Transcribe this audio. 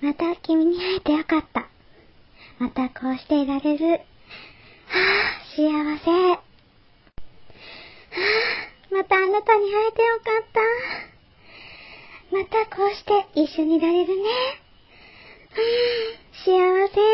また君に会えてよかった。またこうしていられる。はぁ、幸せ。はぁ、またあなたに会えてよかった。またこうして一緒にいられるね。幸せ。